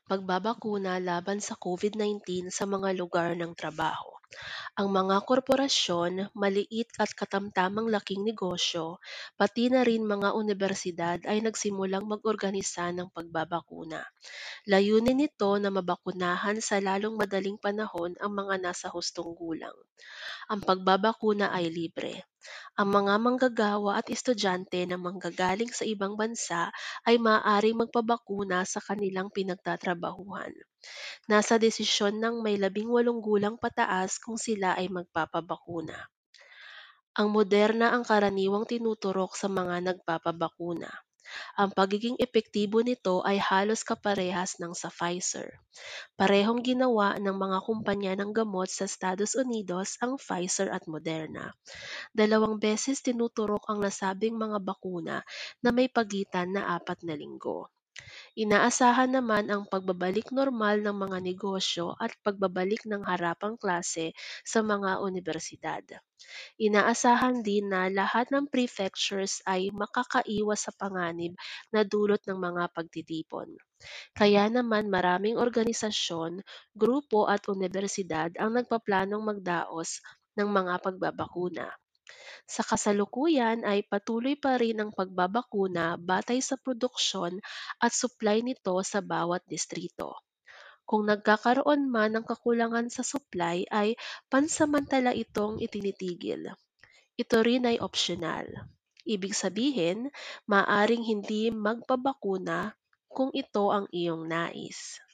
Pagbabakuna laban sa COVID-19 sa mga lugar ng trabaho. Ang mga korporasyon, maliit at katamtamang laking negosyo, pati na rin mga unibersidad ay nagsimulang mag-organisa ng pagbabakuna. Layunin nito na mabakunahan sa lalong madaling panahon ang mga nasa hustong gulang. Ang pagbabakuna ay libre. Ang mga manggagawa at estudyante na manggagaling sa ibang bansa ay maaaring magpabakuna sa kanilang pinagtatrabahuhan. Nasa desisyon ng may 18 gulang pataas kung sila ay magpapabakuna. Ang Moderna ang karaniwang tinuturok sa mga nagpapabakuna. Ang pagiging epektibo nito ay halos kaparehas ng sa Pfizer. Parehong ginawa ng mga kumpanya ng gamot sa Estados Unidos ang Pfizer at Moderna. 2 beses tinuturok ang nasabing mga bakuna na may pagitan na 4 na linggo. Inaasahan naman ang pagbabalik normal ng mga negosyo at pagbabalik ng harapang klase sa mga unibersidad. Inaasahan din na lahat ng prefectures ay makakaiwas sa panganib na dulot ng mga pagtitipon. Kaya naman maraming organisasyon, grupo at unibersidad ang nagpaplanong magdaos ng mga pagbabakuna. Sa kasalukuyan ay patuloy pa rin ang pagbabakuna batay sa produksyon at supply nito sa bawat distrito. Kung nagkakaroon man ng kakulangan sa supply ay pansamantala itong itinitigil. Ito rin ay opsyonal. Ibig sabihin, maaring hindi magpabakuna kung ito ang iyong nais.